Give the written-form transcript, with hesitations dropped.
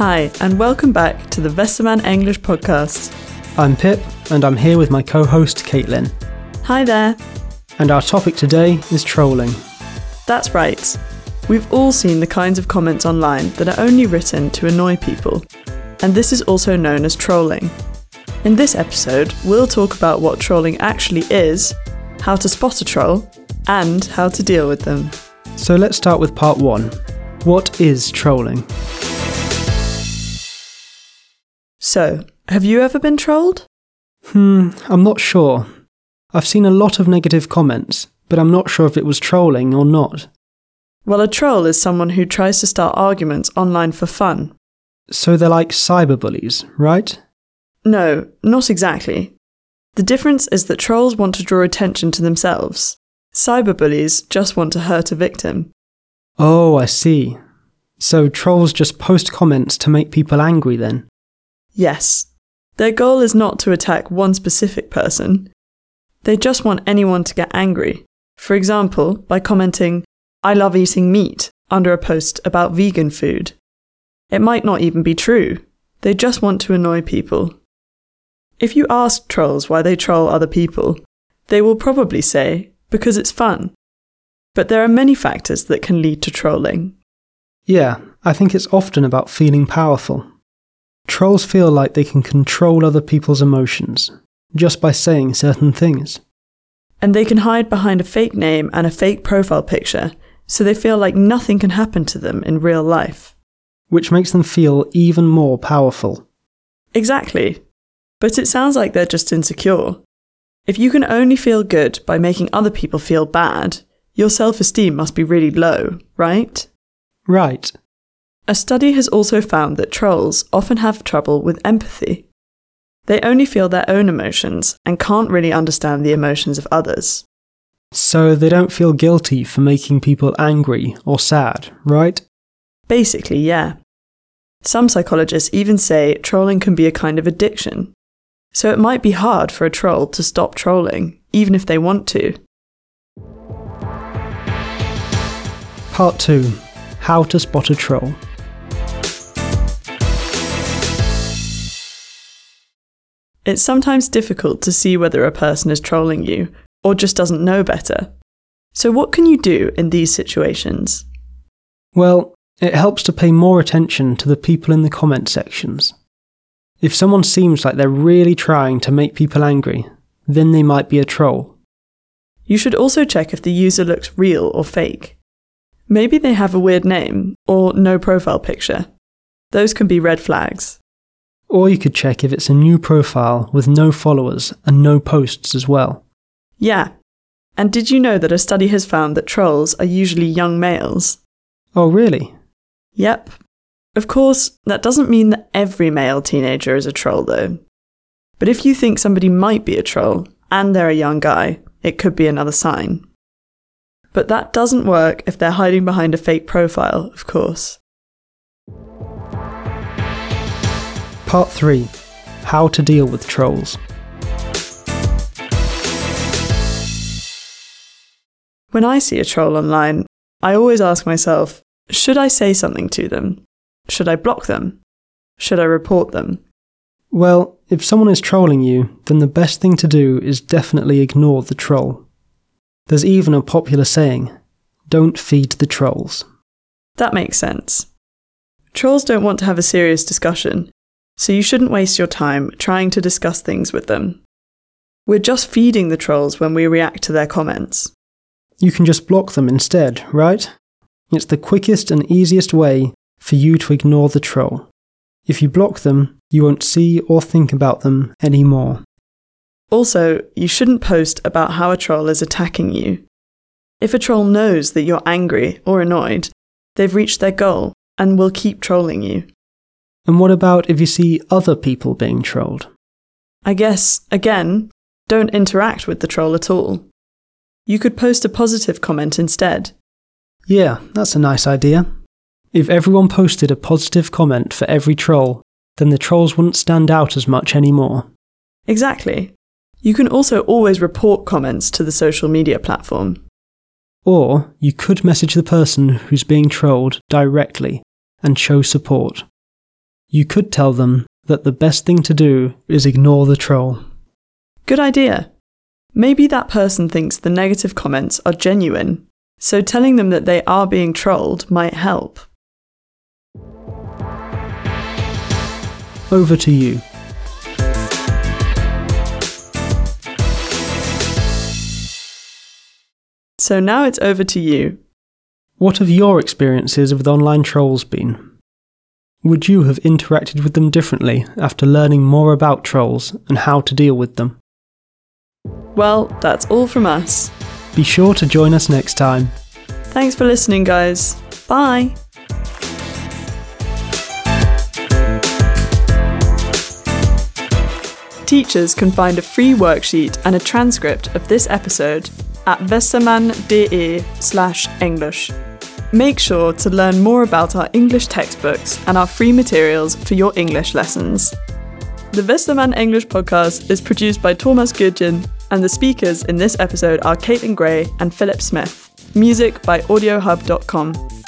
Hi, and welcome back to the Westermann English podcast. I'm Pip, and I'm here with my co-host Caitlin. Hi there. And our topic today is trolling. That's right. We've all seen the kinds of comments online that are only written to annoy people, and this is also known as trolling. In this episode, we'll talk about what trolling actually is, how to spot a troll, and how to deal with them. So let's start with part 1. What is trolling? So, have you ever been trolled? I'm not sure. I've seen a lot of negative comments, but I'm not sure if it was trolling or not. Well, a troll is someone who tries to start arguments online for fun. So they're like cyberbullies, right? No, not exactly. The difference is that trolls want to draw attention to themselves. Cyberbullies just want to hurt a victim. Oh, I see. So trolls just post comments to make people angry then? Yes. Their goal is not to attack one specific person. They just want anyone to get angry. For example, by commenting, "I love eating meat," under a post about vegan food. It might not even be true. They just want to annoy people. If you ask trolls why they troll other people, they will probably say, because it's fun. But there are many factors that can lead to trolling. Yeah, I think it's often about feeling powerful. Trolls feel like they can control other people's emotions, just by saying certain things. And they can hide behind a fake name and a fake profile picture, so they feel like nothing can happen to them in real life. Which makes them feel even more powerful. Exactly. But it sounds like they're just insecure. If you can only feel good by making other people feel bad, your self-esteem must be really low, right? Right. A study has also found that trolls often have trouble with empathy. They only feel their own emotions and can't really understand the emotions of others. So they don't feel guilty for making people angry or sad, right? Basically, yeah. Some psychologists even say trolling can be a kind of addiction. So it might be hard for a troll to stop trolling, even if they want to. Part 2. How to spot a troll. It's sometimes difficult to see whether a person is trolling you, or just doesn't know better. So what can you do in these situations? Well, it helps to pay more attention to the people in the comment sections. If someone seems like they're really trying to make people angry, then they might be a troll. You should also check if the user looks real or fake. Maybe they have a weird name, or no profile picture. Those can be red flags. Or you could check if it's a new profile with no followers and no posts as well. Yeah. And did you know that a study has found that trolls are usually young males? Oh, really? Yep. Of course, that doesn't mean that every male teenager is a troll, though. But if you think somebody might be a troll, and they're a young guy, it could be another sign. But that doesn't work if they're hiding behind a fake profile, of course. Part 3. How to deal with trolls. When I see a troll online, I always ask myself, should I say something to them? Should I block them? Should I report them? Well, if someone is trolling you, then the best thing to do is definitely ignore the troll. There's even a popular saying, don't feed the trolls. That makes sense. Trolls don't want to have a serious discussion, so you shouldn't waste your time trying to discuss things with them. We're just feeding the trolls when we react to their comments. You can just block them instead, right? It's the quickest and easiest way for you to ignore the troll. If you block them, you won't see or think about them anymore. Also, you shouldn't post about how a troll is attacking you. If a troll knows that you're angry or annoyed, they've reached their goal and will keep trolling you. And what about if you see other people being trolled? I guess, again, don't interact with the troll at all. You could post a positive comment instead. Yeah, that's a nice idea. If everyone posted a positive comment for every troll, then the trolls wouldn't stand out as much anymore. Exactly. You can also always report comments to the social media platform. Or you could message the person who's being trolled directly and show support. You could tell them that the best thing to do is ignore the troll. Good idea. Maybe that person thinks the negative comments are genuine, so telling them that they are being trolled might help. Over to you. So now it's over to you. What have your experiences with online trolls been? Would you have interacted with them differently after learning more about trolls and how to deal with them? Well, that's all from us. Be sure to join us next time. Thanks for listening, guys. Bye! Teachers can find a free worksheet and a transcript of this episode at westermann.de/English. Make sure to learn more about our English textbooks and our free materials for your English lessons. The Westermann English podcast is produced by Thomas Gudgen, and the speakers in this episode are Caitlin Gray and Philip Smith. Music by audiohub.com.